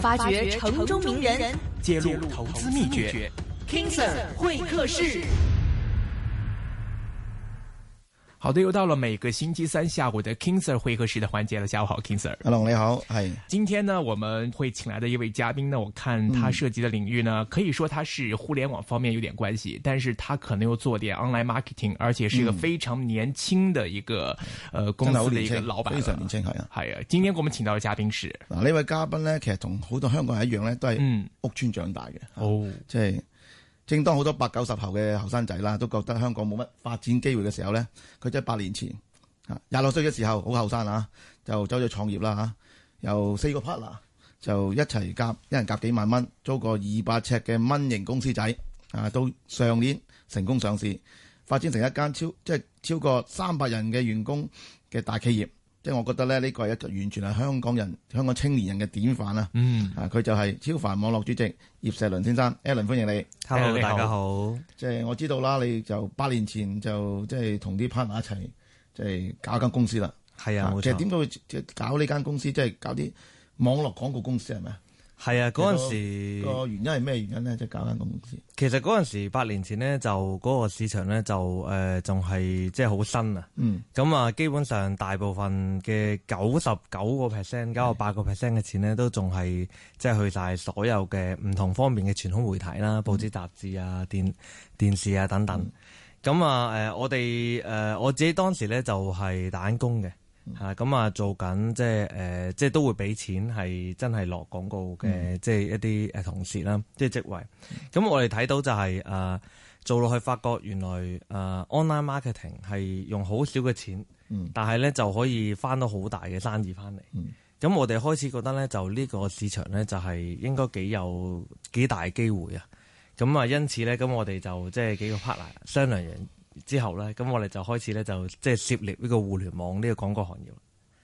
發掘城中名人， 揭露投資秘訣。 King Sir 會客室。 好的，又到了每個星期三下午的 King Sir 會客室的環節了。下午好 ，King Sir。 阿龍你好，係。 今天呢，我們會請來的一位嘉賓呢，我看他涉及的領域呢，可以說他是互聯網方面有點關係，但是他可能又做點 online marketing，而且是一個非常年輕的一個公司的一個老闆， 非常年輕係啊。 係啊，今天我們請到嘅嘉賓是嗱，呢位嘉賓呢，其實同好多香港人一樣呢，都係屋邨長大嘅。 哦， 即係正當好多80、90後嘅後生仔啦，都覺得香港冇乜發展機會嘅時候呢，佢即係8年前26歲嘅時候，好後生啊，就走咗創業啦嚇，由4個 partner 就一齊夾，一人夾幾萬蚊，租個200尺嘅蚊型公司仔啊，到上年成功上市，發展成一間超過300人嘅員工嘅大企業。即係我覺得咧，呢個係一個完全係香港青年人嘅典範啦。佢就係超凡網絡主席葉碩麟先生 ，Alan 歡迎你。 Hello， 大家好。 即係我知道啦，你就8年前就即係同啲 partner 一齊即係搞一間公司啦。 係啊，冇錯。 其實點解會搞呢間公司？即係搞啲網絡廣告公司係咪啊？ 係啊，嗰陣時個原因係咩原因咧？即係搞間公司。其實嗰陣時8年前呢，就嗰個市場咧就仲係即係好新啊。咁啊，基本上大部分嘅99%、98% 嘅錢呢，都仲係即係去晒所有嘅唔同方面嘅傳統媒體啦、報紙雜誌啊、電視啊等等。咁啊我自己當時咧就係打緊工嘅。咁啊，做緊即係都會俾錢，係真係落廣告嘅，即係一啲同事啦，即係職位。咁我哋睇到就係做落去，發覺原來online marketing 係用好少嘅錢，但係咧就可以翻到好大嘅生意翻嚟。咁我哋開始覺得咧，就呢個市場咧就係應該幾大機會啊。咁啊，因此咧，咁我哋就即係幾個 partner 商量完之後呢，咁我哋就開始呢，就即係涉獵呢個互聯網呢個廣告行業。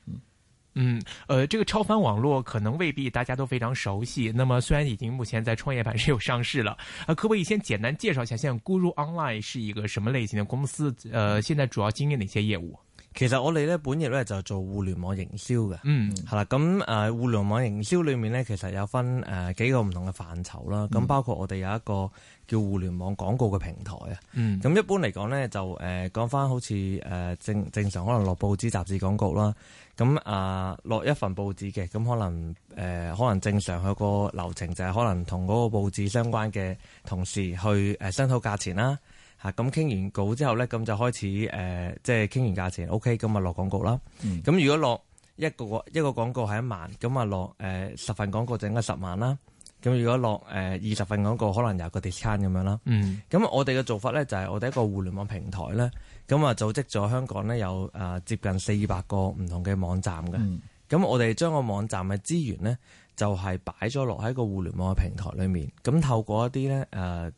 這個超凡網絡可能未必大家都非常熟悉。那麼雖然已經目前在創業板是有上市了，可不可以先簡單介紹一下，現在 Guru Online 是一個什麼類型的公司？現在主要經營哪些業務？ 其實我哋咧本業咧就做互聯網營銷嘅，係啦。咁互聯網營銷裏面咧，其實有分幾個唔同嘅範疇啦。咁包括我哋有一個叫互聯網廣告嘅平台啊。咁一般嚟講咧，就講翻好似正常可能落報紙雜誌廣告啦。咁落一份報紙嘅，咁可能正常佢個流程就係可能同嗰個報紙相關嘅同事去商討價錢啦。咁傾完稿之後咧，咁就開始即係傾完價錢 ，OK， 咁啊落廣告啦。咁如果落一個廣告係1萬，咁啊落10份廣告就應該10萬啦。咁如果落20份廣告，可能有個 discount 咁樣啦。咁我哋嘅做法咧就係我哋一個互聯網平台咧，咁啊組織咗香港咧有接近400個唔同嘅網站嘅。咁我哋將個網站嘅資源咧就係擺咗落喺個互聯網嘅平台裏面，咁透過一啲咧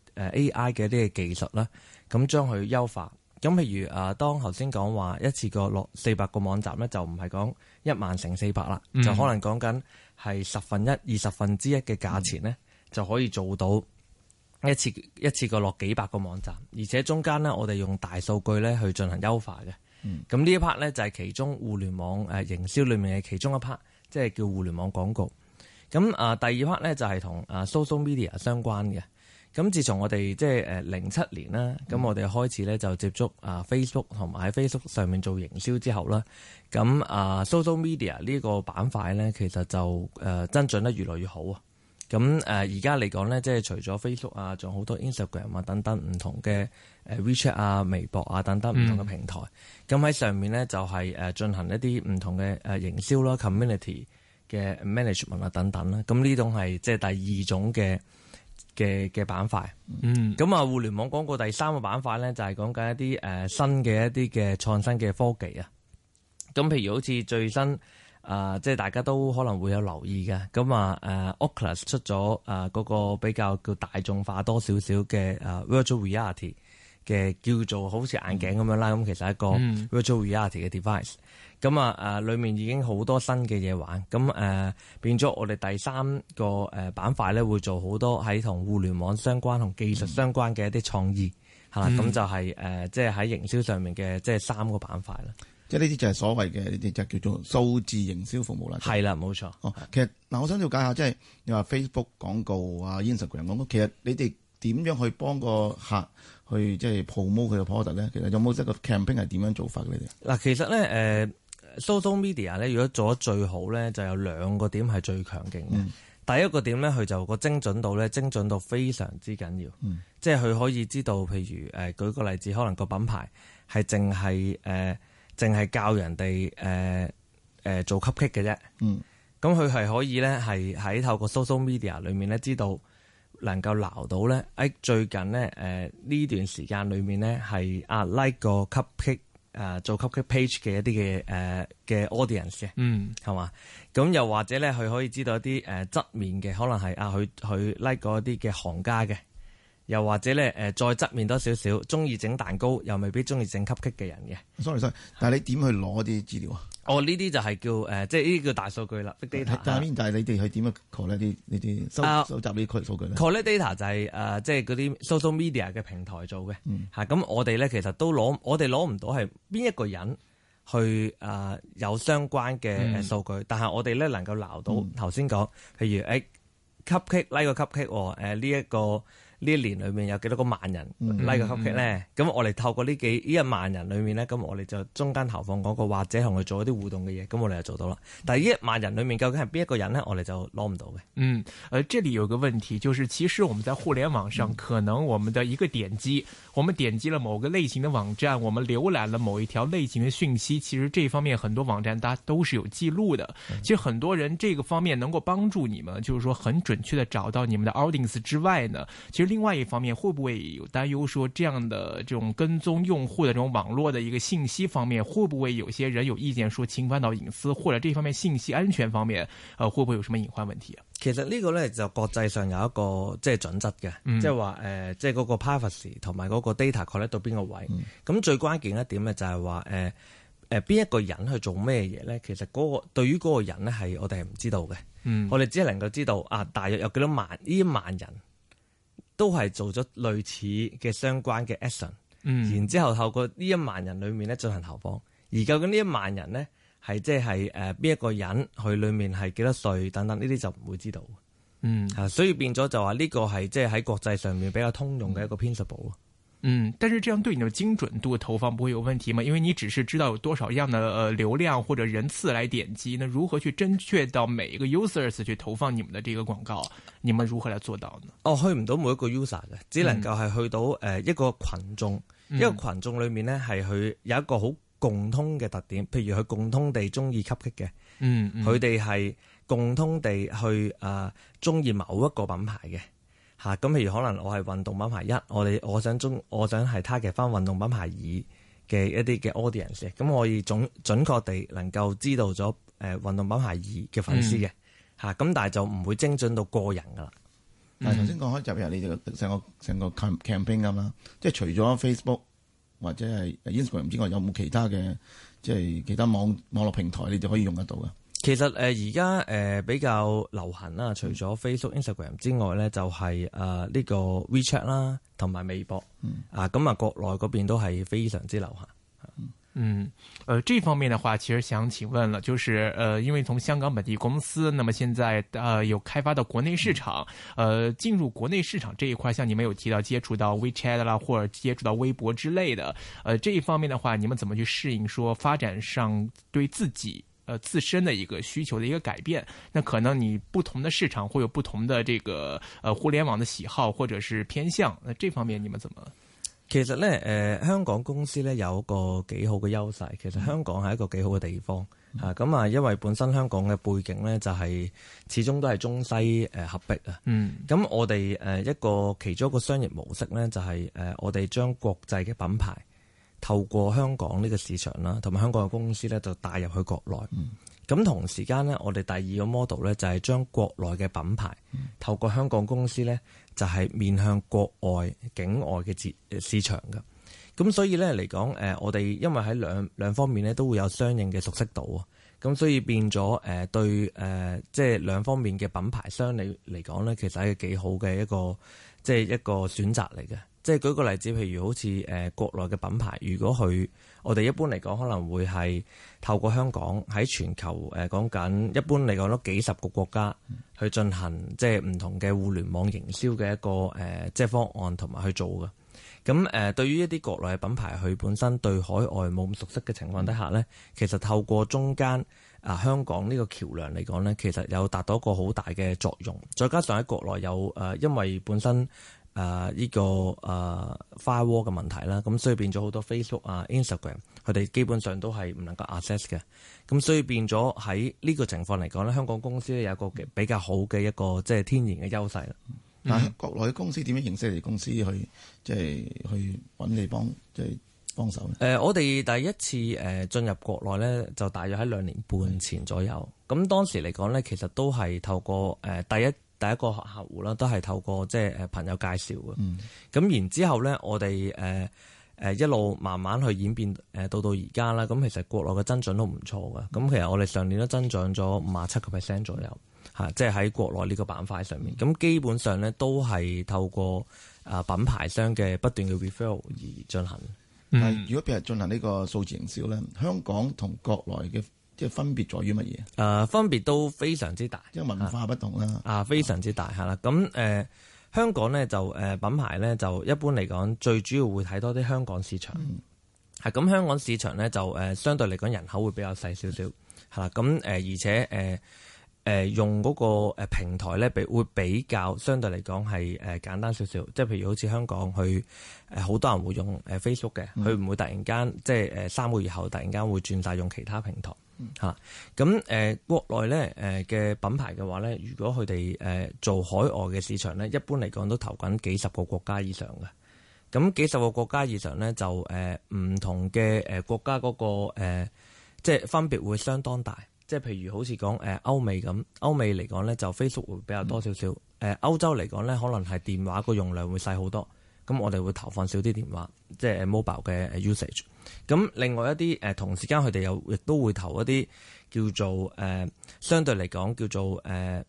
AI 嘅一啲嘅技術啦，咁將佢優化。咁譬如當頭先講話一次過落400個網站咧，就唔係講1萬乘400啦，就可能講緊係1/10、1/20嘅價錢咧，就可以做到一次過落幾百個網站，而且中間咧我哋用大數據咧去進行優化嘅。咁呢一 part 咧就係其中互聯網營銷裏面嘅其中一 part，即係叫互聯網廣告。咁第二 part 咧就係同social media 相關嘅。咁自從我哋即係07年啦，咁我哋開始咧就接觸Facebook 同埋喺 Facebook 上面做營銷之後啦，咁social media 呢個板塊咧其實就增長得越來越好啊。咁而家嚟講咧，即係除咗 Facebook 啊，仲有好多 Instagram 啊等等唔同嘅WeChat 啊、微博啊等等唔同嘅平台。咁喺上面咧就係進行一啲唔同嘅營銷啦、community 嘅 management 啊等等啦。咁呢種係即係第二種嘅板塊。咁互聯網廣告第三個板塊咧就係講緊一啲新嘅一啲嘅創新嘅科技啊。咁譬如好似最新即係大家都可能會有留意嘅，咁Oculus 出咗嗰個比較叫大眾化多少少嘅virtual reality 嘅叫做好似眼鏡咁樣啦，咁其實係一個 virtual reality 嘅 device。咁裏面已經好多新嘅嘢玩，咁變咗我哋第三個板塊咧會做好多喺同互聯網相關同技術相關嘅一啲創意，係啦，咁就係即係喺營銷上面嘅即係3個板塊啦。 即係呢啲就係所謂嘅呢啲就叫做數字營銷服務啦。 係啦，冇錯。 其實嗱，我想了解下，即係你話 Facebook 廣告啊、Instagram 廣告，其實你哋點樣去幫個客去即係 promote 佢嘅 product 咧？其實有冇一個 campaign 係點樣做法嘅？你哋嗱， 其實咧social media 咧，如果做得最好咧，就有兩個點係最強勁嘅。第一個點咧，佢就個精準度咧，精準度非常之緊要。即係佢可以知道，譬如舉個例子，可能個品牌係淨係教人哋做 cupcake 嘅啫。咁佢係可以咧，係喺透過 social media 裏面咧，知道能夠撈到咧，最近咧呢段時間裏面咧係like 個 cupcake。做 cupcake page 嘅一啲嘅 audience 嘅，係嘛？咁又或者咧，佢可以知道一啲側面嘅，可能係佢 like 嗰啲嘅行家嘅，又或者咧再側面多少少，中意整蛋糕又未必中意整 cupcake 嘅人嘅。 sorry，但係你點去攞啲資料啊？ 呢啲就係叫即係呢啲叫大數據啦 ，big data。 但係你哋去點樣 collect 呢啲收集呢啲數據咧 ？collect data 就係即係嗰啲 social media 嘅平台做嘅嚇。咁我哋咧其實都我哋攞唔到係邊一個人去有相關嘅數據，但係我哋咧能夠撈到頭先講，譬如cupcake like 個 cupcake 呢一年裏面有幾多個萬人 like 個 cupcake 咧？咁我哋透過呢1萬人裏面咧，咁我哋就中間投放廣告或者同佢做一啲互動嘅嘢，咁我哋就做到啦。但係呢1萬人裏面究竟係邊一個人咧？我哋就攞唔到嘅。 這裡有個問題，就是其實我們在互聯網上，可能我們的一個點擊，我們點擊了某個類型的網站，我們瀏覽了某一條類型的訊息，其實這方面很多網站大家都是有記錄的。其實很多人這個方面能夠幫助你們，就是說很準確的找到你們的 audience 之外呢，其實另外一方面，會不會有擔憂說這樣的這種跟蹤用戶的這種網絡的一個信息方面，會不會有些人有意見說侵犯到隱私，或者這方面信息安全方面，會不會有什麼隱患問題啊？ 其實呢個咧就國際上有一個即係準則嘅，即係話即係嗰個 privacy 同埋嗰個 data collect 到邊個位。咁最關鍵一點咧就係話邊一個人去做咩嘢咧？其實對於嗰個人咧係我哋係唔知道嘅。我哋只係能夠知道大約有幾多萬呢1萬人。都係做咗類似嘅相關嘅 action，然之後透過呢1萬人裏面咧進行投放，而究竟呢1萬人咧係即係邊一個人，佢裏面係幾多歲等等呢啲就唔會知道。所以變咗就話呢個係即係喺國際上面比較通用嘅一個 principle。 但是這樣對你的精準度投放不會有問題嗎？因為你只是知道有多少樣的流量或者人次來點擊，那如何去準確到每一個 users 去投放你們的這個廣告？你們如何來做到呢？去唔到每一個 user 嘅，只能夠係去到一個群眾，一個群眾裏面呢係佢有一個好共通嘅特點，譬如佢共通地中意 cupcake 嘅，佢哋係共通地去中意某一個品牌嘅。咁譬如可能我係運動品牌1，我想係 target 翻運動品牌2嘅一啲嘅 audience，咁我可以準確地能夠知道咗運動品牌2嘅粉絲嘅，咁但係就唔會精準到個人噶啦。 但係頭先講開入入你哋成個 campaign 咁啦，即係除咗 Facebook 或者係 Instagram 之外，有冇其他嘅即係其他網絡平台你哋可以用得到嘅？ 其實而家比較流行啦，除咗 Facebook、Instagram 之外咧，就係呢個 WeChat 啦，同埋微博。咁國內嗰邊都係非常之流行。 這方面的話，其實想請問了，就是因為從香港本地公司，那麼現在有開發到國內市場，進入國內市場這一塊，像你們有提到接觸到 WeChat 啦，或者接觸到微博之類的，這一方面的話，你們怎麼去適應說發展上對自己自身的一個需求的一個改變？那可能你不同的市場會有不同的這個互聯網的喜好或者是偏向，那這方面你們怎麼？ 其實咧，香港公司咧有一個幾好嘅優勢。其實香港係一個幾好嘅地方咁因為本身香港嘅背景咧就係始終都係中西合璧啊。咁我哋其中一個商業模式咧就係我哋將國際嘅品牌透過香港呢個市場啦，同埋香港嘅公司咧就帶入去國內。咁同時間咧，我哋第二個 model 咧就係將國內嘅品牌透過香港公司咧就係面向國外境外嘅市場㗎。咁所以咧嚟講，我哋因為喺兩方面咧都會有相應嘅熟悉度啊。咁所以變咗對即係兩方面嘅品牌商嚟講咧，其實係幾好嘅一個即係一個選擇嚟嘅。 即係舉個例子，譬如好似國內嘅品牌，如果我哋一般嚟講可能會係透過香港喺全球講緊一般嚟講都幾十個國家去進行即係唔同嘅互聯網營銷嘅一個即係方案同埋去做嘅。咁對於一啲國內嘅品牌，佢本身對海外冇咁熟悉嘅情況底下咧，其實透過中間香港呢個橋梁嚟講咧，其實有達到一個好大嘅作用。再加上喺國內有因為本身呢個firewall 嘅問題啦，咁所以變咗好多 Facebook Instagram 佢哋基本上都係唔能夠 access 嘅。咁所以變咗喺呢個情況嚟講咧，香港公司咧有一個比較好嘅一個即係天然嘅優勢啦。 但係國內嘅公司點樣認識你哋公司去即係去揾你幫手咧？ 我哋第一次進入國內咧，就大約喺2年半前左右。咁當時嚟講咧，其實都係透過第一個客戶啦，都係透過即係朋友介紹嘅。咁然之後咧，我哋一路慢慢去演變到而家啦。咁其實國內嘅增長都唔錯嘅。咁其實我哋上年都增長咗57% 左右。即係喺國內呢個板塊上面，咁基本上咧都係透過品牌商嘅不斷嘅 referral 而進行。 如果譬如進行呢個數字營銷咧，香港同國內嘅即係分別在於乜嘢？ 分別都非常之大， 因為文化不同啦。 非常之大係啦。咁香港咧就品牌咧就一般嚟講，最主要會睇多啲香港市場。咁香港市場咧就相對嚟講人口會比較細少少係啦。咁而且用嗰個平台咧，會比較相對嚟講係簡單少少。即係譬如好似香港，佢好多人會用Facebook 嘅，佢唔會突然間即係3個月後突然間會轉晒用其他平台嚇。咁國內咧嘅品牌嘅話咧，如果佢哋做海外嘅市場咧，一般嚟講都投緊幾十個國家以上嘅。咁幾十個國家以上咧，就唔同嘅國家嗰個即係分別會相當大。即係譬如好似講歐美咁，歐美嚟講咧就 Facebook 會比較多少少。歐洲嚟講咧，可能係電話個用量會細好多。咁我哋會投放少啲電話，即係 mobile 嘅 usage。咁另外一啲同時間佢哋又亦都會投一啲叫做相對嚟講叫做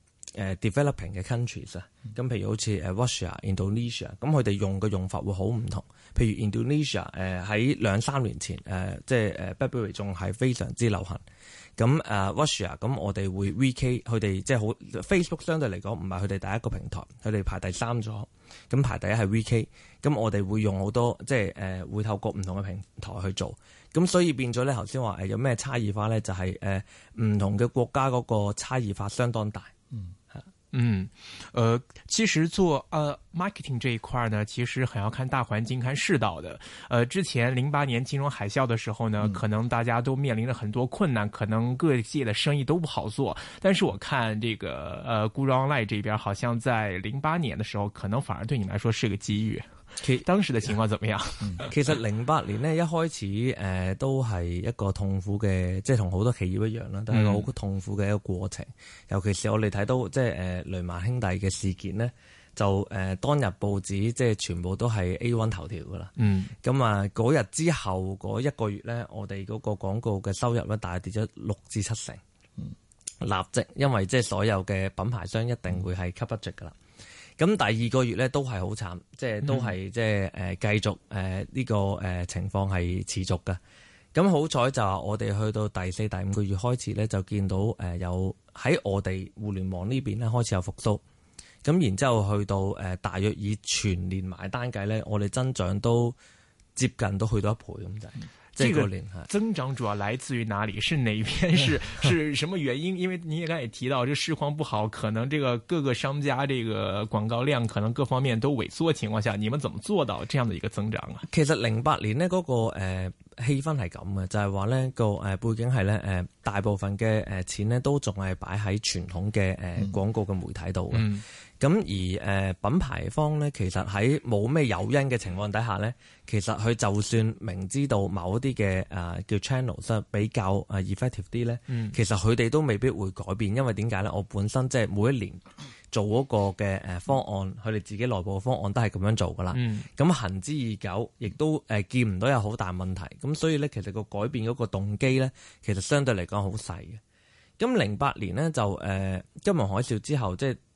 developing 嘅 countries 啊。咁譬如好似Russia、Indonesia， 咁佢哋用嘅用法會好唔同。譬如 Indonesia 喺2-3年前即係 BlackBerry 仲係非常之流行。咁Russia 咁我哋會 VK 佢哋即係好 Facebook 相對嚟講唔係佢哋第一個平台，佢哋排第3咗。咁排第一係 VK， 咁我哋會用好多即係會透過唔同嘅平台去做。咁所以變咗咧，頭先話有咩差異化咧，就係唔同嘅國家嗰個差異化相當大。 其實做marketing 這一塊呢，其實很要看大環境、看世道的。之前08年金融海嘯的時候呢，可能大家都面臨着很多困難，可能各界的生意都不好做。但是我看這個GuruOnline 這邊，好像在08年的時候，可能反而對你們來說是個機遇。當時的情況怎麼樣？ 其實08年呢，一開始都係一個痛苦嘅，即係同好多企業一樣啦，都係一個好痛苦嘅一個過程。尤其是我哋睇到即係雷曼兄弟嘅事件呢，就當日報紙即係全部都係 A1 頭條噶啦。咁嗰日之後嗰1個月呢，我哋嗰個廣告嘅收入呢，大跌咗6至7成。立即因為即係所有嘅品牌商一定會係 cut budget噶啦。咁第2個月咧都係好慘，即係都係即係繼續呢個情況係持續嘅。咁好彩就係我哋去到第4、第5個月開始咧，就見到有喺我哋互聯網呢邊咧開始有復甦。咁然之後去到大約以全年埋單計咧，我哋增長都接近都去到1倍咁滯。 這個增長主要來自於哪裡？是哪一邊？是什麼原因？因為你也剛才也提到，這市況不好，可能這個各個商家這個廣告量可能各方面都萎縮的情況下，你們怎麼做到這樣的一個增長啊？ 其實08年呢嗰個氣氛係咁嘅，就係話呢個背景係呢大部分嘅錢呢都仲係擺喺傳統嘅廣告嘅媒體度嘅。咁而品牌方咧，其實喺冇咩誘因嘅情況底下咧，其實佢就算明知道某一啲嘅叫 channels 比較effective 啲咧，其實佢哋都未必會改變，因為點解咧？我本身即係每一年做嗰個嘅方案，佢哋自己內部嘅方案都係咁樣做噶啦。咁行之已久，亦都見唔到有好大問題。咁所以咧，其實個改變嗰個動機咧，其實相對嚟講好細嘅。咁08年咧就金融海嘯之後，即係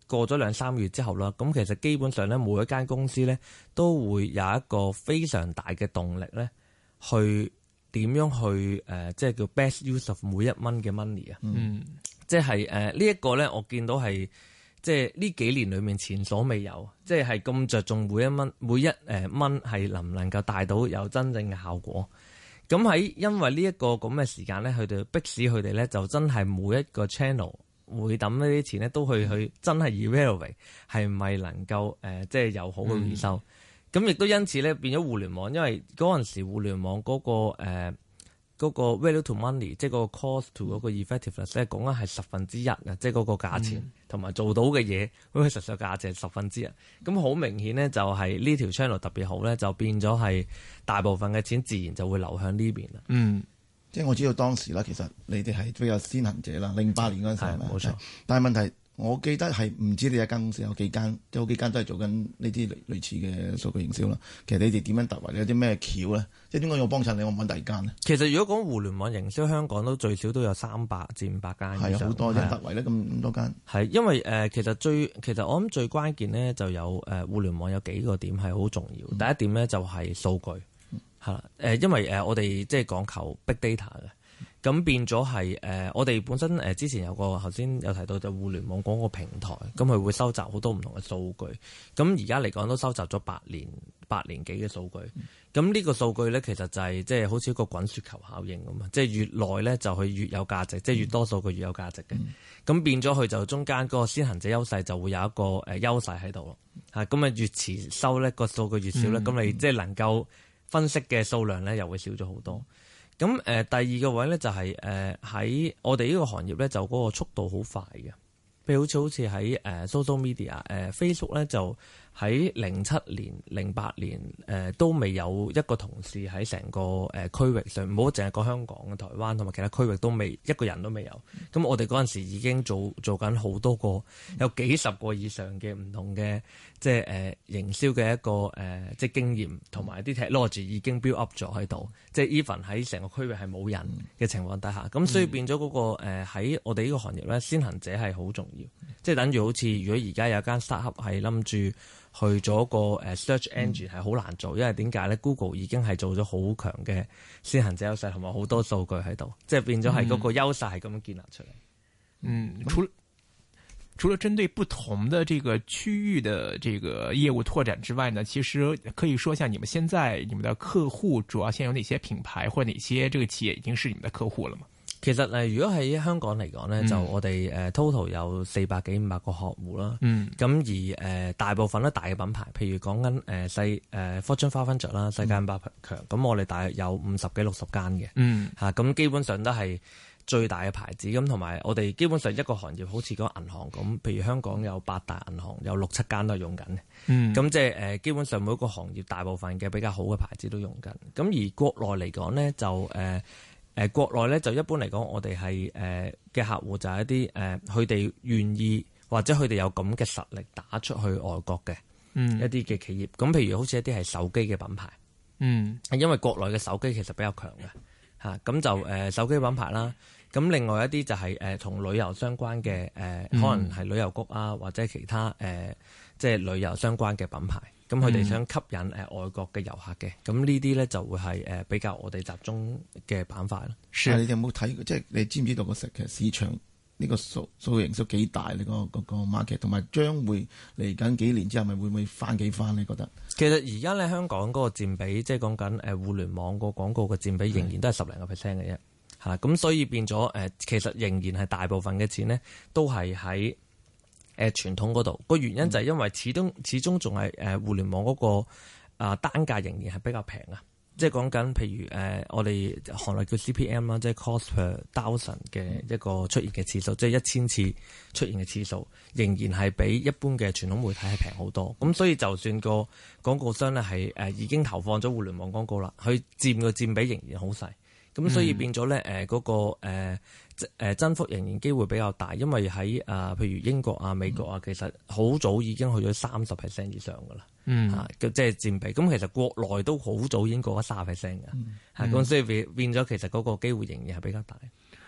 過咗2-3月之後啦，咁其實基本上咧每一間公司咧都會有一個非常大嘅動力咧，去點樣去即係叫 best use of 每一蚊嘅 money 啊。即係呢一個咧，我見到係即係呢幾年裏面前所未有，即係咁着重每一蚊係能唔能夠帶到有真正嘅效果。咁喺因為呢一個咁嘅時間咧，佢哋迫使佢哋咧就真係每一個 channel 會抌呢啲錢咧，都去真係 evaluate 係咪能夠即係有好嘅回收。咁亦都因此咧變咗互聯網，因為嗰陣時互聯網嗰個 value to money， 即係嗰個 cost to 嗰個 effectiveness 咧，講緊係1/10啊，即係嗰個價錢同埋做到嘅嘢嗰個實際價值係1/10。咁好明顯咧，就係呢條 channel 特別好咧，就變咗係大部分嘅錢自然就會流向呢邊啦。 即係我知道當時啦，其實你哋係比較先行者啦，08年嗰陣時係咪？冇錯。但係問題，我記得係唔知你一間公司有幾間，即係好幾間都係做緊呢啲類似嘅數據營銷啦。其實你哋點樣突圍？你有啲咩橋咧？即係點解要幫襯你？我揾第二間咧？ 其實如果講互聯網營銷，香港都最少都有300至500間以上。 係好多啫，突圍咧咁多間。 係因為其實我諗最關鍵咧就有互聯網有幾個點係好重要。第一點咧就係數據因為我哋即係講求 big data 嘅。咁變咗係我哋本身之前有個頭先有提到就互聯網廣告平台，咁佢會收集好多唔同嘅數據。咁而家嚟講都收集咗8年幾嘅數據。咁呢個數據咧其實就係即係好似一個滾雪球效應咁啊！即係越耐咧就佢越有價值，即係越多數據越有價值嘅。咁變咗佢就中間嗰個先行者優勢就會有一個優勢喺度咯。咁啊越遲收咧個數據越少咧，咁你即係能夠分析嘅數量咧又會少咗好多。咁第二個位咧就係喺我哋呢個行業咧就嗰個速度好快嘅，譬如好似喺social media Facebook 咧就喺07年、08年都未有一個同事喺成個區域上，唔好淨係講香港、台灣同埋其他區域都未一個人都未有。咁我哋嗰陣時已經做緊好多個，有幾十個以上嘅唔同嘅即係營銷嘅一個即係經驗同埋啲 technology 已經 build up 咗喺度。即係 even 喺成個區域係冇人嘅情況底下，咁所以變咗嗰個喺我哋呢個行業咧，先行者係好重要。即係等於好似如果而家有間 startup 係諗住去咗個search engine 係好難做，因為點解咧 Google 已經係做咗好強嘅先行者優勢同埋好多數據喺度，即係變咗係嗰個優勢係咁樣建立出嚟。 除了針對不同的這個區域的這個業務拓展之外呢，其實可以說一下你們現在你們的客戶主要現在有哪些品牌或者哪些這個企業已經是你們的客戶了嗎？ 其實如果喺香港嚟講呢，就我哋total 有400幾500個客戶啦。咁而大部分都大嘅品牌，譬如講緊Fortune 500啦，世界500強，咁我哋大約有50幾60間嘅。咁基本上都係最大嘅牌子，咁同埋我哋基本上一個行業好似嗰個銀行咁，譬如香港有8大銀行，有6-7間都係用緊嘅。咁即係基本上每一個行業大部分嘅比較好嘅牌子都用緊。咁而國內嚟講呢，就國內咧就一般嚟講，我哋係嘅客戶就係一啲佢哋願意或者佢哋有咁嘅實力打出去外國嘅一啲嘅企業。咁譬如好似一啲係手機嘅品牌，因為國內嘅手機其實比較強嘅咁就手機品牌啦。咁另外一啲就係同旅遊相關嘅可能係旅遊局啊，或者其他即係旅遊相關嘅品牌。咁佢哋想吸引外國嘅遊客嘅，咁呢啲咧就會係比較我哋集中嘅板塊咯。 係你哋有冇睇？即係你知唔知道個市場呢個數營銷幾大？你個 market 同埋將會嚟緊幾年之後，咪會唔會翻幾番？你覺得？其實而家咧香港嗰個佔比，即係講緊互聯網個廣告嘅佔比，仍然都係10零個%嘅啫。嚇，咁所以變咗其實仍然係大部分嘅錢呢，都係喺傳統嗰度。個原因就係因為始終仲係互聯網嗰個單價仍然係比較平啊。即係講緊譬如我哋行內叫 CPM 啦，即係 cost per thousand 嘅一個出現嘅次數，即係1000次出現嘅次數，仍然係比一般嘅傳統媒體係平好多。咁所以就算個廣告商咧係已經投放咗互聯網廣告啦，佢佔比仍然好細。咁所以變咗咧嗰個增幅仍然機會比較大，因為喺譬如英國啊、美國啊，其實好早已經去咗30% 以上噶啦，即係佔比。咁其實國內都好早已經過咗30% 嘅，咁所以變咗其實嗰個機會仍然係比較大。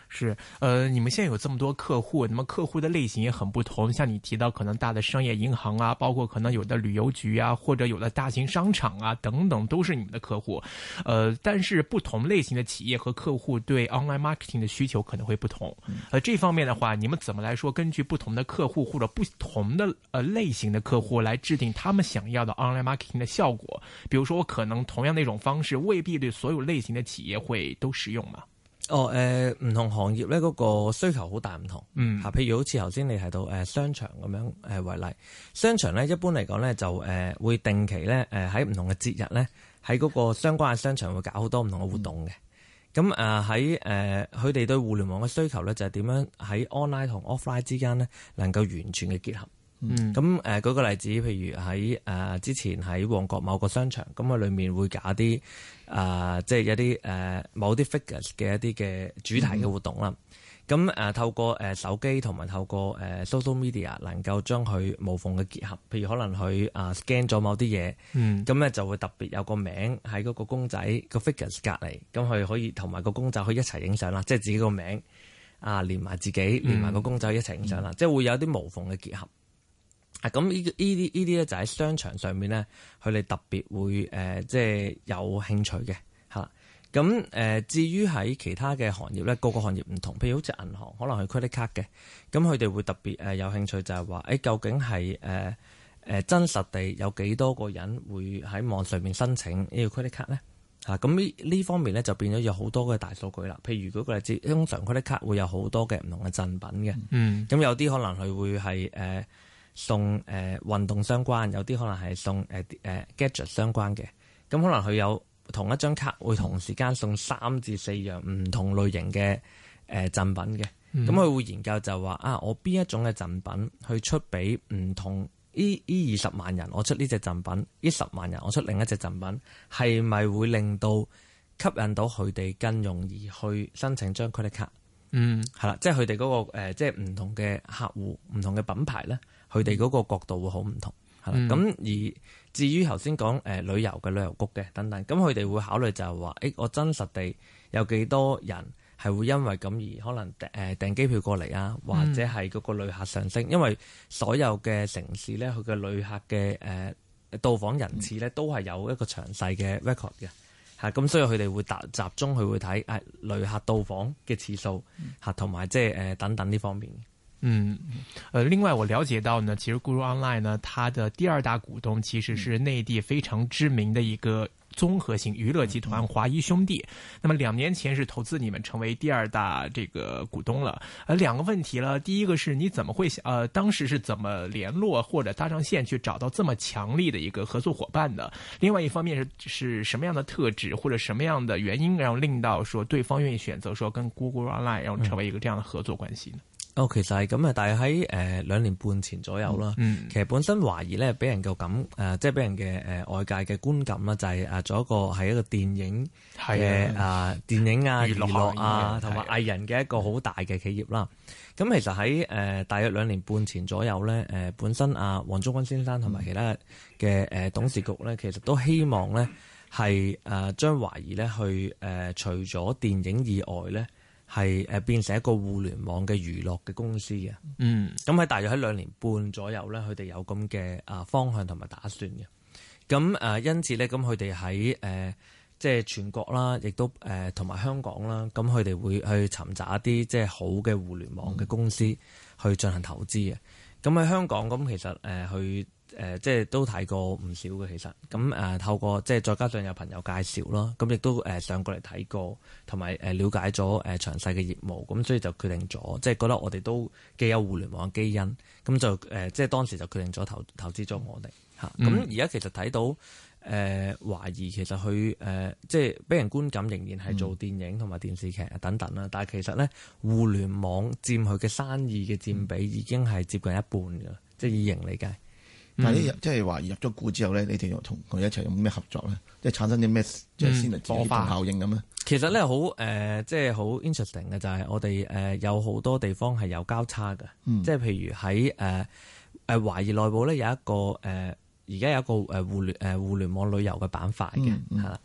是，你們現在有這麼多客戶，那麼客戶的類型也很不同。像你提到可能大的商業銀行啊，包括可能有的旅遊局啊，或者有的大型商場啊等等，都是你們的客戶。但是不同類型的企業和客戶對 online marketing 的需求可能會不同。這方面的話，你們怎麼來說？根據不同的客戶或者不同的類型的客戶來制定他們想要的 online marketing 的效果。比如說，我可能同樣的一種方式，未必對所有類型的企業會都適用嘛。 唔同行業咧，嗰個需求好大唔同。譬如好似頭先你提到商場咁樣為例，商場咧一般嚟講咧就會定期咧喺唔同嘅節日咧喺嗰個相關嘅商場會搞好多唔同嘅活動嘅。咁喺佢哋對互聯網嘅需求咧就係點樣喺 online 同 offline 之間咧能夠完全嘅結合。咁舉個例子，譬如喺之前喺旺角某個商場，咁裏面會搞啲即係一啲某啲 figures 嘅一啲嘅主題嘅活動啦。咁透過手機同埋透過social media 能夠將佢無縫嘅結合，譬如可能佢scan 咗某啲嘢，咁咧就會特別有個名喺嗰個公仔個 figures 隔離，咁佢可以同埋個公仔可以一齊影相啦，即係自己個名連埋自己連埋個公仔一齊影相啦，即係會有啲無縫嘅結合。咁呢啲咧就喺商場上面咧，佢哋特別會即係有興趣嘅嚇。咁至於喺其他嘅行業咧，個行業唔同，譬如好似銀行，可能係 credit card 嘅，咁佢哋會特別有興趣就係話，究竟係真實地有幾多個人會喺網上面申請呢個 credit card 咧？咁呢方面咧就變咗有好多嘅大數據啦。譬如嗰個例子，通常 credit card 會有好多嘅唔同嘅贈品嘅，咁有啲可能佢會係送運動相關，有啲可能係送gadget 相關嘅，咁可能佢有同一張卡會同時間送3至4樣唔同類型嘅贈品嘅，咁佢會研究就話我邊一種嘅贈品去出俾唔同呢20萬人，我出呢隻贈品，呢10萬人我出另一隻贈品，係咪會令到吸引到佢哋更容易去申請張 credit card？係啦，即係佢哋嗰個即係唔同嘅客戶、唔同嘅品牌咧，佢哋嗰個角度會好唔同，係啦。咁而至於頭先講旅遊嘅旅遊局嘅等等，咁佢哋會考慮就係話，我真實地有幾多人係會因為咁而可能訂機票過嚟啊，或者係嗰個旅客上升，因為所有嘅城市咧，佢嘅旅客嘅到訪人次咧，都係有一個詳細嘅 record 嘅。咁所以佢哋會集中去會睇旅客到訪嘅次數同埋即係等等呢方面。 另外我了解到呢，其實 Guru Online 呢，它的第二大股東其實是內地非常知名的一個綜合性娛樂集團華誼兄弟。那麼2年前是投資你們成為第二大這個股東了。兩個問題了，第一個是你怎麼會當時是怎麼聯絡或者搭上線去找到這麼強力的一個合作伙伴的？另外一方面是什麼樣的特質或者什麼樣的原因，然後令到說對方願意選擇說跟 Guru Online 然後成為一個這樣的合作關係呢？ 其實係咁啊，但係喺2年半前左右啦。其實本身華誼咧，俾人嘅即係俾人嘅外界嘅觀感啦，就係做一個電影嘅電影娛樂同埋藝人嘅一個好大嘅企業啦。咁其實喺大約2年半前左右咧，本身黃宗軍先生同埋其他嘅董事局咧，其實都希望咧係將華誼咧去除咗電影以外咧，係變成一個互聯網嘅娛樂嘅公司嘅。咁喺大約喺2年半左右咧，佢哋有咁嘅方向同埋打算嘅。咁因此咧，咁佢哋喺即係全國啦，亦都同埋香港啦，咁佢哋會去尋找一啲即係好嘅互聯網嘅公司去進行投資嘅。咁喺香港咁其實去即係都睇過唔少嘅，其實咁透過即係再加上有朋友介紹啦，咁亦都上過嚟睇過，同埋了解咗詳細嘅業務，咁所以就決定咗，即係覺得我哋都既有互聯網嘅基因，咁就即係當時就決定咗投資咗我哋嚇。咁而家其實睇到華誼其實佢即係俾人觀感仍然係做電影同埋電視劇等等啦，但係其實咧互聯網佔佢嘅生意嘅佔比已經係接近一半㗎，即係以盈利計。 但係即係華誼入咗股之後咧，你哋又同佢一齊有咩合作咧？即係產生啲咩即係先嚟協同效應咁咧？ 其實咧好即係好 interesting 嘅就係我哋有好多地方係有交叉嘅，即係譬如喺華誼內部咧有一個而家有一個互聯網旅遊嘅板塊嘅係啦。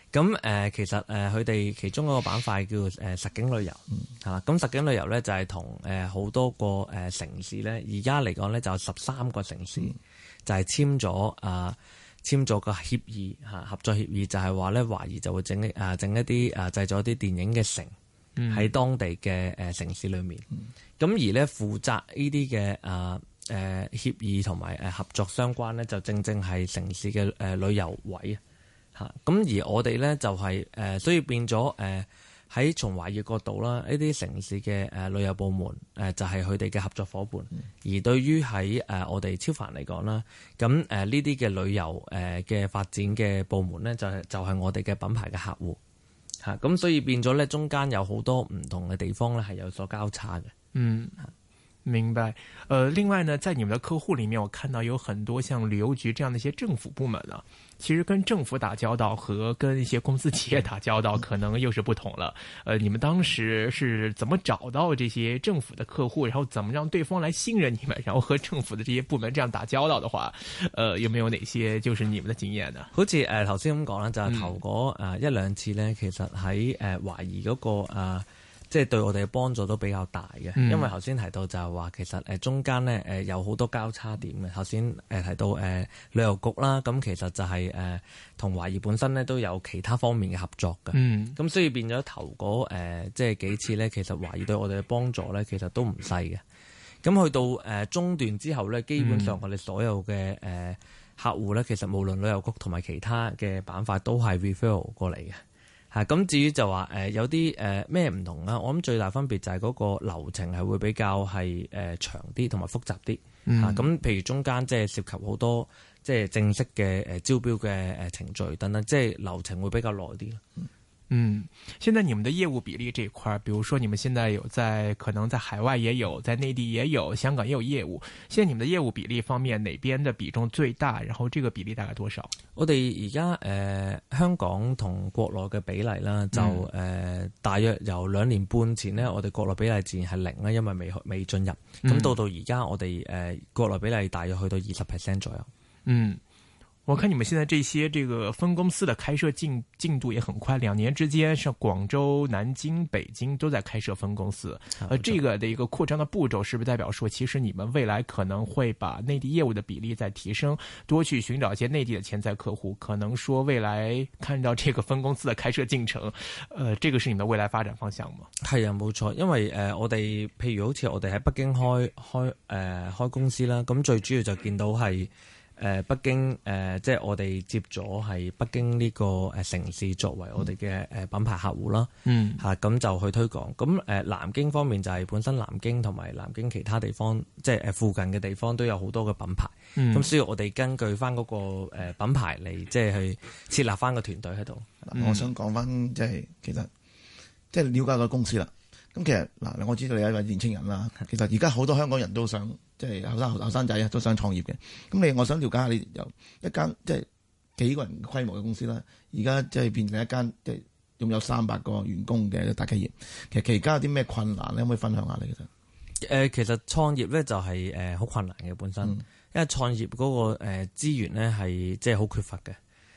咁其實佢哋其中一個板塊叫實景旅遊，係啦。咁實景旅遊咧就係同好多個城市咧，而家嚟講咧就有13個城市就係簽咗個協議合作協議，就係話咧華誼就會整一啲製作一啲電影嘅城喺當地嘅城市裏面。咁而咧負責呢啲嘅協議同埋合作相關咧，就正係城市嘅旅遊位啊。咁而我哋咧就係所以變咗喺從華誼角度啦，呢啲城市嘅旅遊部門就係佢哋嘅合作伙伴。而對於喺我哋超凡嚟講啦，咁呢啲嘅旅遊嘅發展嘅部門咧，就係我哋嘅品牌嘅客戶嚇。咁所以變咗咧，中間有好多唔同嘅地方咧係有所交叉嘅。 明白。另外呢，在你們的客戶裏面，我看到有很多像旅遊局這樣的一些政府部門啊，其實跟政府打交道和跟一些公司企業打交道可能又是不同了。你們當時是怎麼找到這些政府的客戶，然後怎麼讓對方來信任你們，然後和政府的這些部門這樣打交道的話，有沒有哪些就是你們的經驗呢？ 好似頭先咁講啦，就係頭嗰一兩次呢，其實喺華誼嗰個即係對我哋嘅幫助都比較大嘅，因為頭先提到就係話其實中間咧有好多交叉點嘅。頭先提到旅遊局啦，咁其實就係同華誼本身咧都有其他方面嘅合作嘅。咁所以變咗頭嗰即係幾次咧，其實華誼對我哋嘅幫助咧，其實都唔細嘅。咁去到中段之後咧，基本上我哋所有嘅客戶咧，其實無論旅遊局同埋其他嘅板塊都係 referral 過嚟嘅。咁至於就話有啲咩唔同啦，我諗最大分別就係嗰個流程係會比較係長啲同埋複雜啲。咁譬如中間即係涉及好多即係正式嘅招標嘅程序等等，即係流程會比較耐啲。 現在你們的業務比例這一塊，比如說你們現在有可能在海外也有，在內地也有，香港也有業務。現在你們的業務比例方面，哪邊的比重最大？然後這個比例大概多少？ 我哋而家香港同國內嘅比例啦，就大約由2年半前呢，我哋國內比例自然係0啦，因為未進入。咁到而家我哋國內比例大約去到20% 左右。 我看你們現在這些這個分公司的開設進度也很快，2年之間，像廣州、南京、北京都在開設分公司。這個的一個擴張的步驟，是不是代表說，其實你們未來可能會把內地業務的比例再提升，多去尋找一些內地的潛在客戶？可能說未來看到這個分公司的開設進程，這個是你們的未來發展方向嗎？ 係啊，冇錯，因為我哋譬如好似我哋喺北京開公司啦，咁最主要就見到係。北京即係我哋接咗係北京呢個城市作為我哋嘅品牌客戶啦。咁就去推廣。咁南京方面就係本身南京同埋南京其他地方，即係附近嘅地方都有好多嘅品牌。咁所以我哋根據翻嗰個品牌嚟，即係去設立翻個團隊喺度。 我想講翻即係其實即係了解個公司啦。咁其實嗱，我知道你係一位年青人啦。其實而家好多香港人都想即係後生仔啊，都想創業嘅。咁我想了解下你由一間即係幾個人規模嘅公司啦，而家即係變成一間即係擁有300個員工嘅大企業。其實期間有啲咩困難咧？可唔可以分享下你嘅？ 其實創業咧就係好困難嘅本身，因為創業嗰個資源咧係即係好缺乏嘅。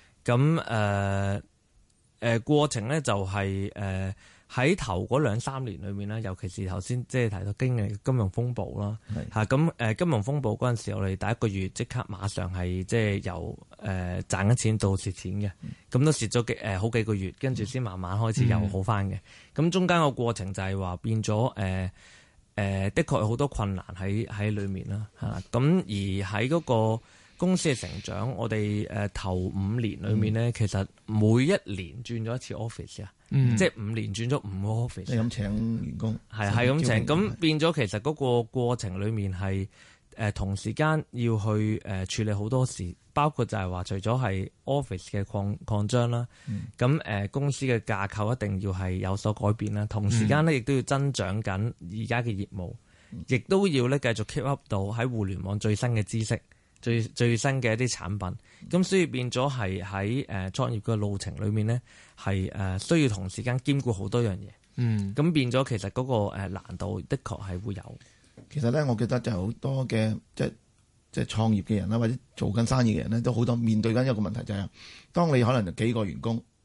咁過程咧就係喺頭嗰2-3年裏面咧，尤其是頭先即係提到經歷金融風暴啦，咁金融風暴嗰陣時，我哋第一個月即刻馬上係即係由賺緊錢到蝕錢嘅，咁都蝕咗好幾個月，跟住先慢慢開始又好翻嘅。咁中間個過程就係話變咗的確有好多困難喺裏面啦，咁而喺嗰個公司嘅成長，我哋頭5年裏面咧，其實每一年轉咗一次 office 啊。即係5年轉咗5個 office， 係咁請員工， 係咁請，咁變咗其實嗰個過程裏面係同時間要去處理好多事，包括就係話除咗係 office 嘅擴張啦，咁公司嘅架構一定要係有所改變啦，同時間咧亦都要增長緊而家嘅業務，亦都要咧繼續 keep up 到喺互聯網最新嘅知識。最新嘅一啲產品，咁所以變咗係喺創業嘅路程裏面咧，係需要同時間兼顧好多樣嘢。咁變咗其實嗰個難度的確係會有。 其實咧，我記得就好多嘅即係創業嘅人啦，或者做緊生意嘅人咧，都好多面對緊一個問題，就係當你可能幾個員工，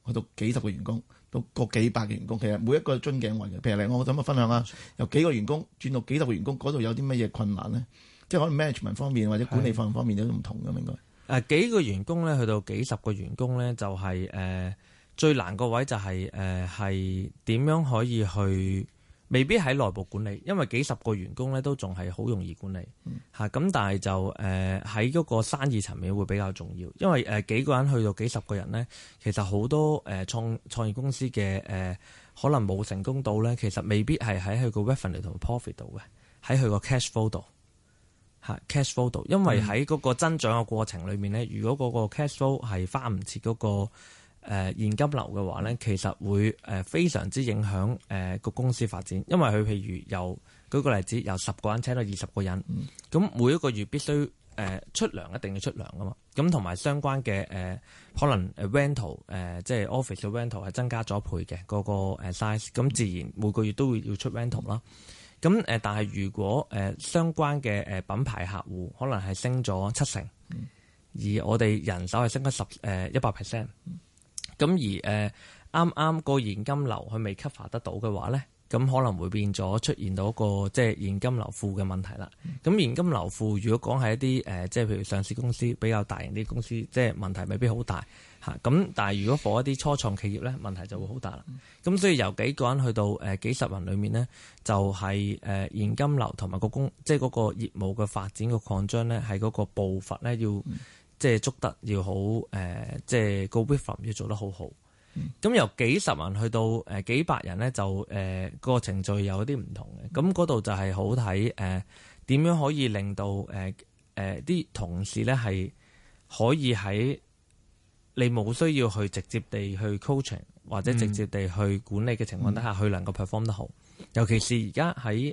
去到幾十個員工，到個幾百個員工，其實每一個樽頸位嘅。譬如我想分享下，由幾個員工轉到幾十個員工，嗰度有啲乜嘢困難咧？即係可能 management 方面或者管理方面都唔同嘅，應該。 幾個員工咧，去到幾十個員工咧，就係最難個位就係點樣可以去，未必喺內部管理，因為幾十個員工咧都仲係好容易管理嚇。咁但係就喺嗰個生意層面會比較重要，因為幾個人去到幾十個人咧，其實好多創業公司嘅可能冇成功到咧，其實未必係喺佢個 revenue 同 profit 度嘅，喺佢個 cash flow 度。cash flow 度，因為喺嗰個增長嘅過程裏面咧，如果嗰個 cash flow 係花唔切嗰個現金流嘅話咧，其實會非常之影響個公司發展。因為佢譬如舉個例子，由10個人請到20個人，咁每一個月必須出糧，一定要出糧噶嘛。咁同埋相關嘅可能rental 即係 office 嘅 rental 係增加咗一倍嘅嗰個 size， 咁自然每個月都會要出 rental 啦。咁但係如果相關嘅品牌客戶可能係升咗70%，而我哋人手係升咗100%，咁而啱啱個現金流佢未 cover 得到嘅話咧，咁可能會變咗出現到一個即係現金流負嘅問題啦。咁現金流負如果講係一啲即係譬如上市公司比較大型啲公司，即係問題未必好大嚇。咁但係如果for一啲初創企業咧，問題就會好大啦。咁所以由幾個人去到幾十人裏面咧，就係現金流同埋即係嗰個業務嘅發展嘅擴張咧，係嗰個步伐咧要即係捉得要好即係個 rhythm 要做得好好。咁由幾十人去到幾百人咧，就個程序有啲唔同嘅。咁嗰度就係好睇點樣可以令到啲同事咧係可以喺你冇需要去直接地去 coaching 或者直接地去管理嘅情況底下，佢能夠 perform 得好。尤其是而家喺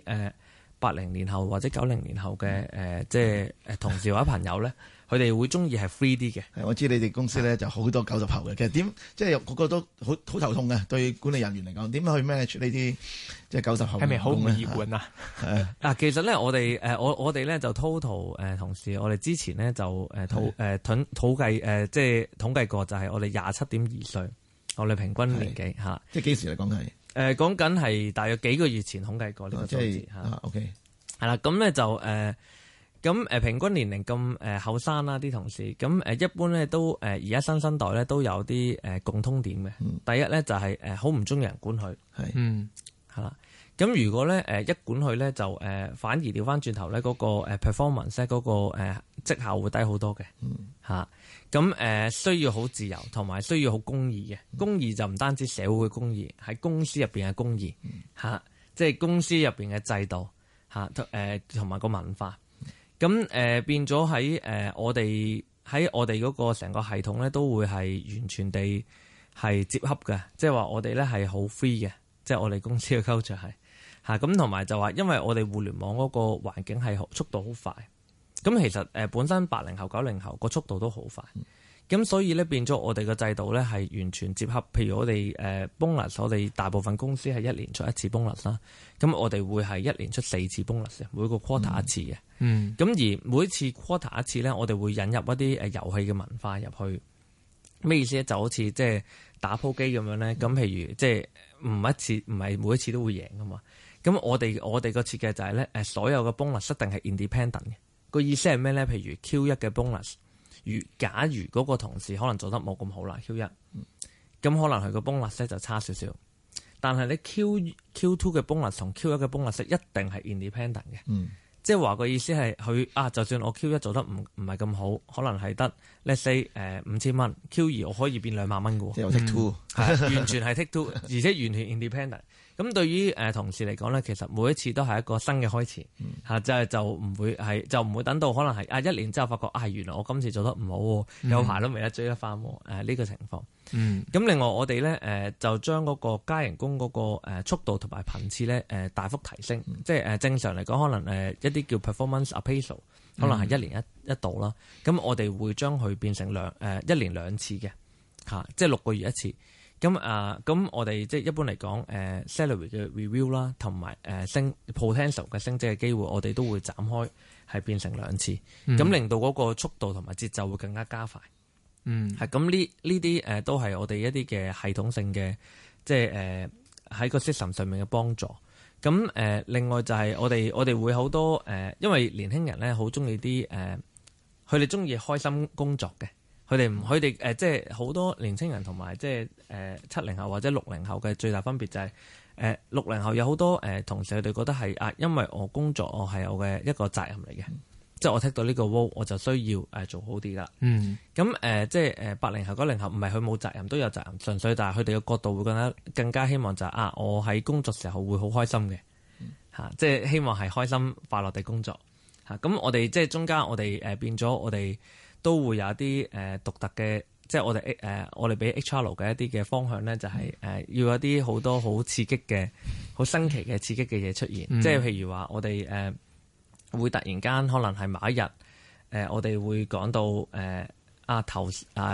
80年後或者90年後嘅即係同事或者朋友咧，佢哋會中意係 free 啲嘅。 我知你哋公司咧就好多90後嘅，其實點即係個個都好頭痛嘅，對管理人員嚟講，點樣去 manage 呢啲即係90後？ 係咪好唔易管啊？ 其實咧，我哋我哋咧就 total 同事，我哋之前咧就統計即係統計過，就係我哋27.2歲，我哋平均年紀嚇。 即係幾時嚟講係？ 講緊係大約幾個月前統計過呢個數字嚇。 OK， 係啦，咁咧就咁平均年齡咁後生啦啲同事，咁一般咧都而家新生代咧都有啲共通點嘅。第一咧就係好唔中意人管佢，係啦。咁如果咧一管佢咧就反而調翻轉頭咧嗰個performance 咧嗰個績效會低好多嘅嚇。咁需要好自由，同埋需要好公義嘅。公義就唔單止社會嘅公義，喺公司入邊嘅公義嚇，即係公司入邊嘅制度嚇，同埋個文化。咁變咗喺我哋嗰個成個系統咧，都會係完全地係接洽嘅，即係話我哋咧係好 free 嘅，即係我哋公司嘅 culture 係嚇。咁同埋就話，因為我哋互聯網嗰個環境係速度好快，咁其實本身80後90後個速度都好快，咁所以咧變咗我哋嘅制度咧係完全接洽。譬如我哋bonus，我哋大部分公司係1年出1次 bonus 啦，咁我哋會係1年出4次 bonus，每個 quarter 一次嘅。咁而每一次 quarter 一次咧，我哋會引入一啲遊戲嘅文化入去。咩意思咧？就好似即係打鋪機咁樣咧。咁譬如即係唔係每一次都會贏噶嘛。咁我哋個設計就係咧所有嘅 bonus 一定係 independent 嘅。個意思係咩咧？譬如 Q1 嘅 bonus，假如嗰個同事可能做得冇咁好啦 Q1，咁可能佢個 bonus 咧就差少少。但係你 Q2 嘅 bonus 同 Q1 嘅 bonus 一定係 independent 嘅。即係話個意思係佢就算我 Q1 做得唔係咁好，可能係得 let's say 5000蚊，Q2 我可以變2萬蚊嘅喎。 即係 take two， 完全係 take two， 而且完全 independent。咁對於同事嚟講咧，其實每一次都係一個新嘅開始嚇，就唔會等到可能係1年之後發覺原來我今次做得唔好，有排都未得追得翻呢個情況。咁另外我哋咧就將嗰個加人工嗰個速度同埋頻次咧大幅提升，即係正常嚟講可能一啲叫 performance appraisal， 可能係1年一度啦。咁我哋會將佢變成1年2次嘅嚇，即係6個月一次。咁我哋即係一般嚟講salary 嘅 review 啦，同埋升 potential 嘅升職嘅機會，我哋都會斬開係變成2次，咁令到嗰個速度同埋節奏會更加加快。 係咁呢啲都係我哋一啲嘅系統性嘅，即係喺個 system 上面嘅幫助。咁另外就係我哋會好多因為年輕人咧好中意啲佢哋中意開心工作嘅，佢哋即係好多年輕人同埋即係70後或者60後嘅最大分別就係60後有好多同事佢哋覺得係因為我工作我係我嘅一個責任嚟嘅。即係我 take 到呢個 role， 我就需要做好啲噶。咁即係80後、90後，唔係佢冇責任，都有責任，純粹但係佢哋嘅角度會覺得更加希望就係我喺工作時候會好開心嘅嚇，即係希望係開心快樂地工作嚇。咁我哋即係中間我哋變咗，我哋都會有一啲獨特嘅，即係我哋俾 HR 嘅一啲嘅方向咧，就係要有一啲好多好刺激嘅、好新奇嘅刺激嘅嘢出現。即係譬如話我哋會突然間可能係某一日，我哋會講到頭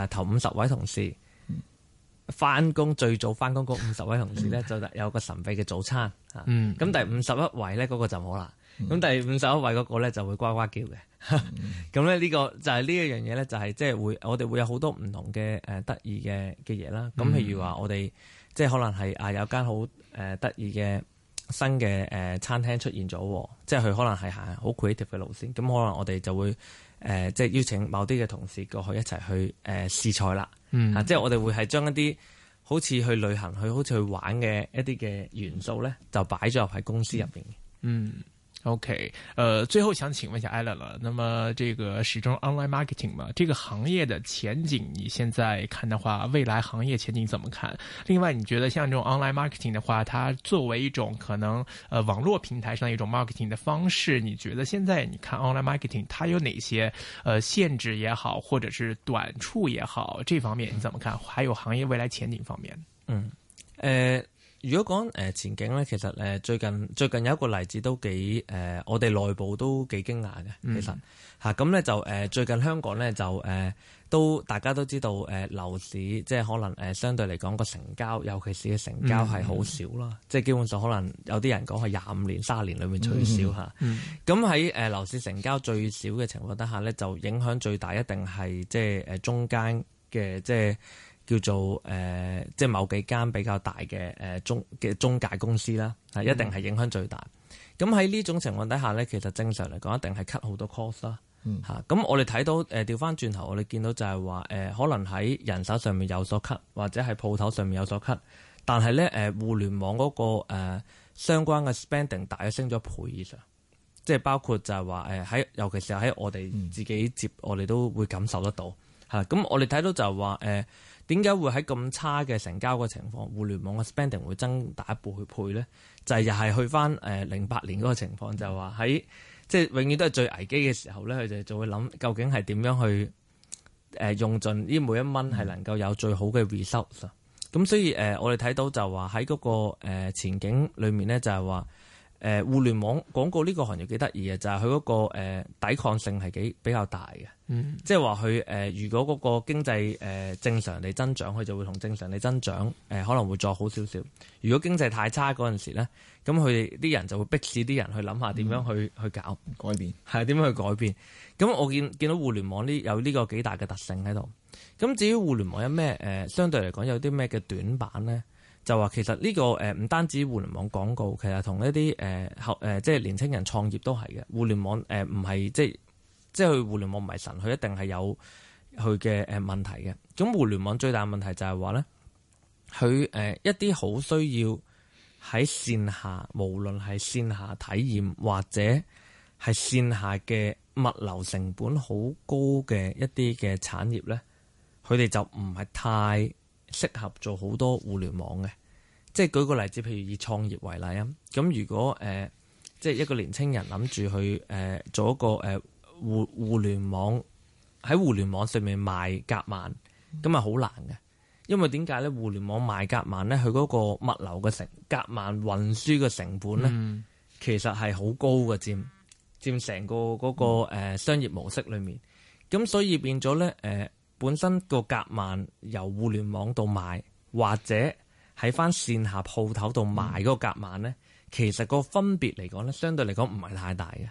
50位同事翻工，最早翻工嗰50位同事咧，就有個神秘嘅早餐嚇。咁第51位咧嗰個就冇啦。咁第51位嗰個咧就會呱呱叫嘅。咁咧呢個就係呢一樣嘢咧，就係即係我哋會有好多唔同嘅得意嘅嘢啦。咁譬如話我哋即係可能係有間好得意嘅新嘅餐廳出現咗，即係佢可能係行好 creative 嘅路線，咁可能我哋就會即係邀請某啲嘅同事過去一齊去試菜啦。即係我哋會係將一啲好似去旅行、好似去玩嘅一啲嘅元素咧，就擺咗入喺公司入邊嘅。 OK，最後想請問一下 Alan 了，那麼這個始終 online marketing 嘛，這個行業的前景，你現在看的話，未來行業前景怎麼看？另外，你覺得像這種 online marketing 的話，它作為一種可能網絡平台上的一種 marketing 的方式，你覺得現在你看 online marketing 它有哪些限制也好，或者是短處也好，這方面你怎麼看？還有行業未來前景方面？ 如果講前景咧，其實最近有一個例子都幾我哋內部都幾驚訝嘅。其實嚇咁咧就最近香港咧就都大家都知道樓市即係可能相對嚟講個成交，尤其是嘅成交係好少啦。即係基本上可能有啲人講係25年、30年裏面最少嚇。咁喺樓市成交最少嘅情況底下咧，就影響最大一定係即係中間嘅即係。叫做即係某幾間比較大嘅中介公司啦，係一定係影響最大。咁喺呢種情況底下咧，其實正常嚟講一定係 cut 好多 cost 啦。咁我哋睇到調翻轉頭，我哋見到就係話可能喺人手上面有所 cut，或者係鋪頭上面有所 cut，但係咧互聯網嗰個相關嘅 spending 大約升咗1倍以上，即係包括就係話喺尤其是喺我哋自己接，我哋都會感受得到嚇。咁我哋睇到就係話點解會喺咁差嘅成交嘅情況，互聯網嘅 spending 會增大1倍咧？就係又係去翻08年嗰個情況，就係話喺即係永遠都係最危機嘅時候咧，佢哋就會諗究竟係點樣去用盡呢每一蚊係能夠有最好嘅 results。咁所以我哋睇到就話喺嗰個前景裏面咧，就係話互聯網廣告呢個行業幾得意嘅，就係佢嗰個抵抗性係比較大嘅。即係話佢如果嗰個經濟正常地增長，佢就會同正常地增長可能會再好少少。如果經濟太差嗰陣時咧，咁佢哋啲人就會逼使啲人去諗下點樣去搞改變， 係點樣去改變。咁我見到互聯網有呢個幾大嘅特性喺度。咁至於互聯網有咩相對嚟講有啲咩嘅短板咧？就話其實呢個唔單止互聯網廣告，其實同一啲即係年輕人創業都係嘅。互聯網唔係即係佢互聯網唔係神，佢一定係有佢嘅問題嘅。咁互聯網最大嘅問題就係話咧，佢一啲好需要喺線下，無論係線下體驗或者係線下嘅物流成本好高嘅一啲嘅產業咧，佢哋就唔係太適合做好多互聯網嘅。即係舉個例子，譬如以創業為例啊，咁如果即係一個年青人諗住去做一個互聯網，喺互聯網上面賣夾萬，咁啊好難嘅。因為點解咧？互聯網賣夾萬咧，佢嗰個物流嘅夾萬運輸嘅成本咧，其實係好高嘅，佔成個嗰個商業模式裏面。咁所以變咗咧本身個夾萬由互聯網度賣，或者喺翻線下鋪頭度賣嗰個夾萬咧，其實個分別嚟講咧，相對嚟講唔係太大嘅。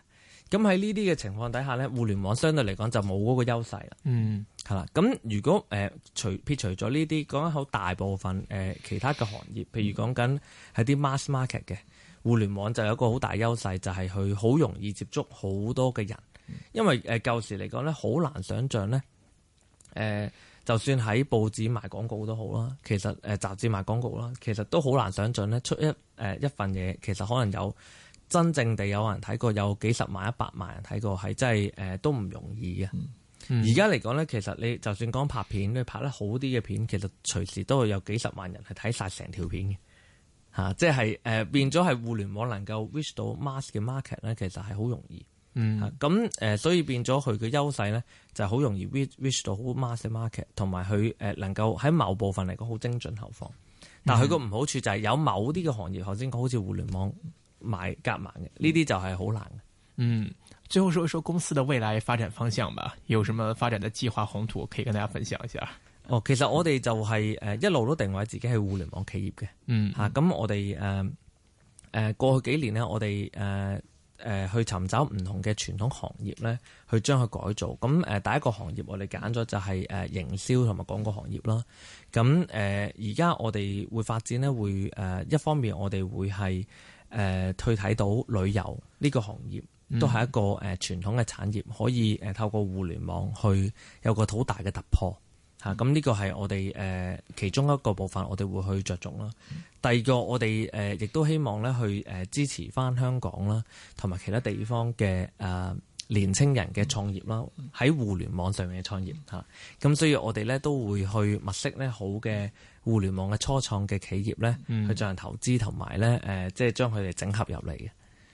咁喺呢啲嘅情況底下咧，互聯網相對嚟講就冇嗰個優勢啦。係啦。咁如果撇除咗呢啲，講緊好大部分其他嘅行業，譬如講緊係啲 mass market 嘅，互聯網就有一個好大優勢，就係佢好容易接觸好多嘅人。因為舊時嚟講咧，好難想像咧，就算喺報紙賣廣告都好啦，其實雜誌賣廣告啦，其實都好難想像咧，出一份嘢，其實可能有真正地有人睇過，有幾十萬、100萬人睇過，係真係都唔容易嘅。而家嚟講咧，其實你就算講拍片，你拍得好啲嘅片，其實隨時都會有幾十萬人係睇晒成條片嘅嚇，即係變咗係互聯網能夠 reach 到 mass 嘅 market 咧，其實係好容易。咁所以變咗佢嘅優勢咧，就係好容易 reach 到好 mass 嘅 market， 同埋佢能夠喺某部分嚟講好精準投放。但係佢個唔好處就係有某啲嘅行業，頭先講好似互聯網買夾萬嘅呢啲就係好難嘅。 最後說一說公司的未來發展方向吧，有什麼發展的計劃宏圖可以跟大家分享一下？ 其實我哋就係一路都定位自己係互聯網企業嘅。咁我哋過去幾年呢，我哋去尋找唔同嘅傳統行業咧，去將佢改造。咁第一個行業我哋揀咗就係營銷同埋廣告行業啦。咁而家我哋會發展咧，會一方面我哋會係去睇到旅遊呢個行業都係一個傳統嘅產業，可以透過互聯網去有個好大嘅突破嚇。咁呢個係我哋其中一個部分，我哋會去着重啦。第二個我哋亦都希望咧去支持翻香港啦，同埋其他地方嘅年青人嘅創業啦，喺互聯網上面嘅創業嚇。咁所以我哋咧都會去物色咧好嘅互聯網嘅初創嘅企業咧，去進行投資同埋咧即係將佢哋整合入嚟嘅。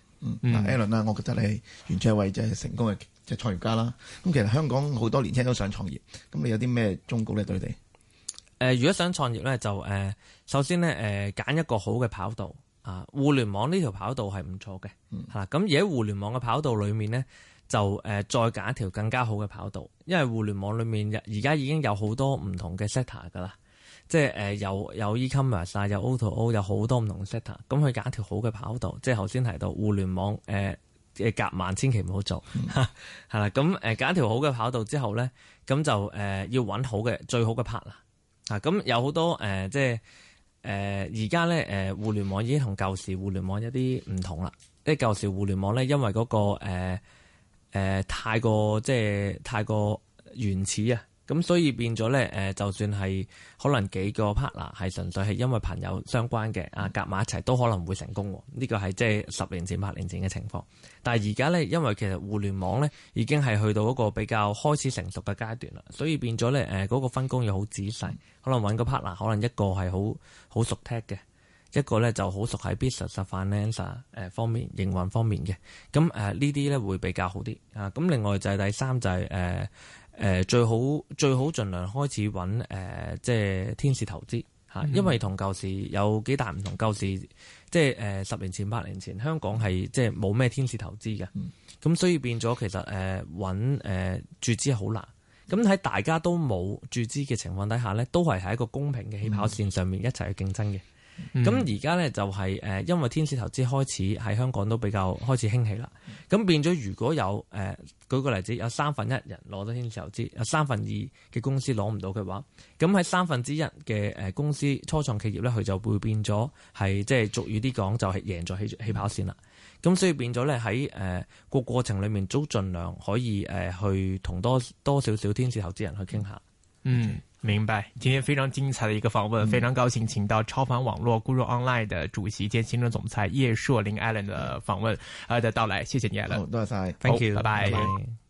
Alan 啦，我覺得你完全係為即係成功嘅即係創業家啦。咁其實香港好多年輕人都想創業，咁你有啲咩忠告咧對你哋？ 如果想創業咧，就首先咧揀一個好嘅跑道啊。互聯網呢條跑道係唔錯嘅嚇。咁而喺互聯網嘅跑道裏面咧，就再揀一條更加好嘅跑道，因為互聯網裏面而家已經有好多唔同嘅 sector 噶啦，即係有 e-commerce 啊，有 O2O， 有好多唔同嘅 sector。咁佢揀一條好嘅跑道，即係頭先提到互聯網夾萬千祈唔好做係啦。咁揀一條好嘅跑道之後咧，咁就要揾好嘅最好嘅 partner。咁有好多即係而家咧互聯網已經同舊時互聯網有啲唔同啦。即係舊時互聯網咧，因為嗰個太過原始啊，咁所以變咗咧就算係可能幾個 partner 係純粹係因為朋友相關嘅夾埋一齊都可能會成功。呢個係即係10年前8年前嘅情況。但係而家咧，因為其實互聯網咧已經係去到一個比較開始成熟嘅階段啦，所以變咗咧嗰個分工要好仔細。可能揾個 partner，可能一個係好熟 tech 嘅，一個咧就好熟喺 business finance 方面營運方面嘅。咁呢啲咧會比較好啲啊。咁另外就係第三就係最好盡量開始揾即係天使投資嚇，因為同舊時有幾大唔同。舊時即係10年前8年前香港係即係冇咩天使投資嘅，咁所以變咗其實揾注資係好難。咁喺大家都冇注資嘅情況底下咧，都係喺一個公平嘅起跑線上面一齊去競爭嘅。咁而家咧就係因為天使投資開始喺香港都比較開始興起啦。咁變咗如果有舉個例子，有1/3人攞到天使投資，有2/3嘅公司攞唔到嘅話，咁喺1/3嘅公司初創企業咧，佢就會變咗係即係俗語啲講就係贏在起跑線啦。咁所以變咗咧喺個過程裏面都盡量可以去同多少少天使投資人去傾下。 明白。今天非常精彩的一個訪問，非常高興請到超凡網絡 Guru Online 的主席兼行政總裁葉碩麟 Alan 的訪問的到來，謝謝你 Alan。 多謝晒 ，Thank you， 拜拜。